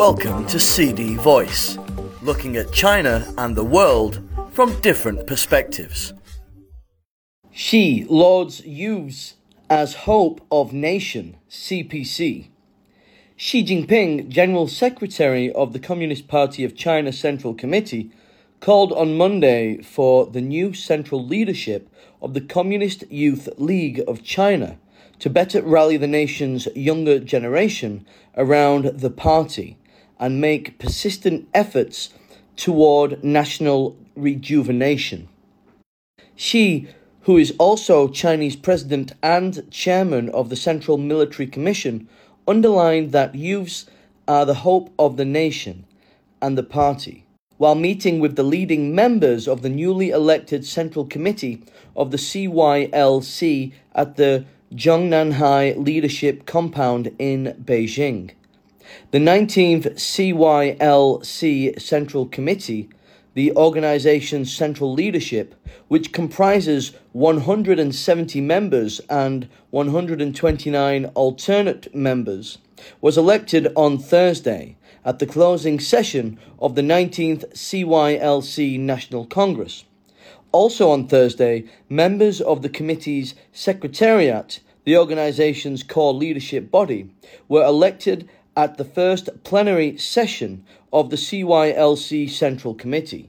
Welcome to CD Voice, looking at China and the world from different perspectives. Xi lauds youths as hope of nation, CPC. Xi Jinping, General Secretary of the Communist Party of China Central Committee, called on Monday for the new central leadership of the Communist Youth League of China to better rally the nation's younger generation around the party and make persistent efforts toward national rejuvenation. Xi, who is also Chinese president and chairman of the Central Military Commission, underlined that youths are the hope of the nation and the party, while meeting with the leading members of the newly elected Central Committee of the CYLC at the Zhongnanhai Leadership Compound in Beijing. The 19th CYLC Central Committee, the organization's central leadership, which comprises 170 members and 129 alternate members, was elected on Thursday at the closing session of the 19th CYLC National Congress. Also on Thursday, members of the committee's secretariat, the organization's core leadership body, were elected at the first plenary session of the CYLC Central Committee.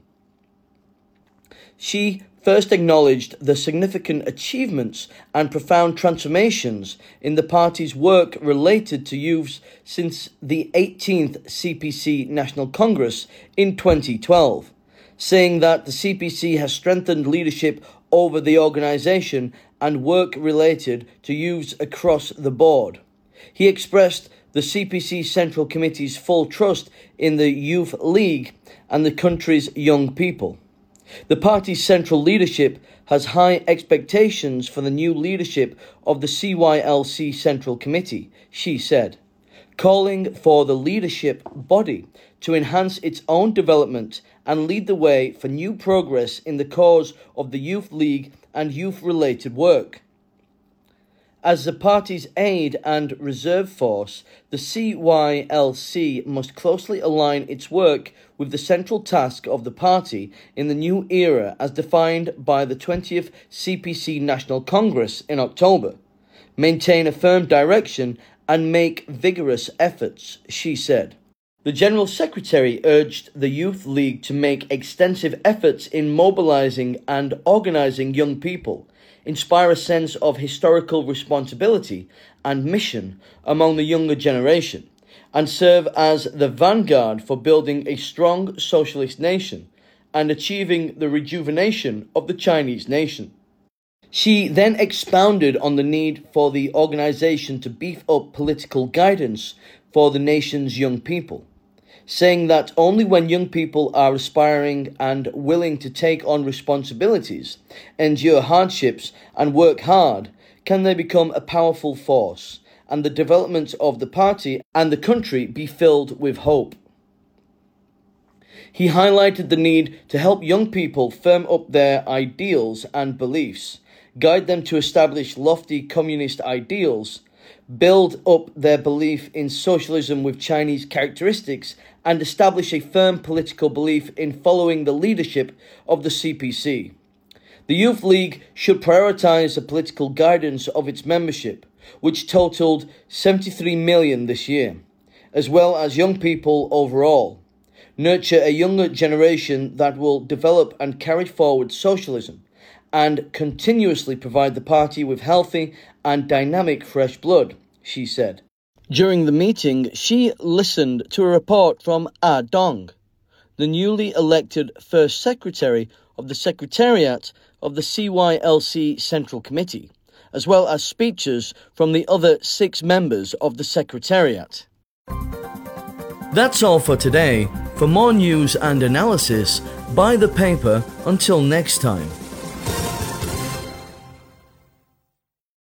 Xi first acknowledged the significant achievements and profound transformations in the party's work related to youths since the 18th CPC National Congress in 2012, saying that the CPC has strengthened leadership over the organization and work related to youths across the board. He expressed the CPC Central Committee's full trust in the Youth League and the country's young people. The party's central leadership has high expectations for the new leadership of the CYLC Central Committee, Xi said, calling for the leadership body to enhance its own development and lead the way for new progress in the cause of the Youth League and youth-related work. As the party's aid and reserve force, the CYLC must closely align its work with the central task of the party in the new era as defined by the 20th CPC National Congress in October, maintain a firm direction and make vigorous efforts, Xi said. The General Secretary urged the Youth League to make extensive efforts in mobilizing and organizing young people, inspire a sense of historical responsibility and mission among the younger generation, and serve as the vanguard for building a strong socialist nation and achieving the rejuvenation of the Chinese nation. Xi then expounded on the need for the organization to beef up political guidance for the nation's young people, saying that only when young people are aspiring and willing to take on responsibilities, endure hardships, and work hard, can they become a powerful force, and the development of the party and the country be filled with hope. He highlighted the need to help young people firm up their ideals and beliefs, guide them to establish lofty communist ideals, build up their belief in socialism with Chinese characteristics, and establish a firm political belief in following the leadership of the CPC. The Youth League should prioritize the political guidance of its membership, which totaled 73 million this year, as well as young people overall, nurture a younger generation that will develop and carry forward socialism, and continuously provide the party with healthy and dynamic fresh blood, Xi said. During the meeting, Xi listened to a report from Dong, the newly elected first secretary of the Secretariat of the CYLC Central Committee, as well as speeches from the other 6 members of the Secretariat. That's all for today. For more news and analysis, buy the paper. Until next time.